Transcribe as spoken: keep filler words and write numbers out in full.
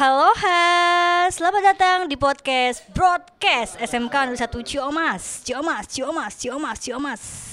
Aloha, selamat datang di podcast Broadcast S M K nol satu Ciomas, Ciomas, Ciomas, Ciomas, Ciomas.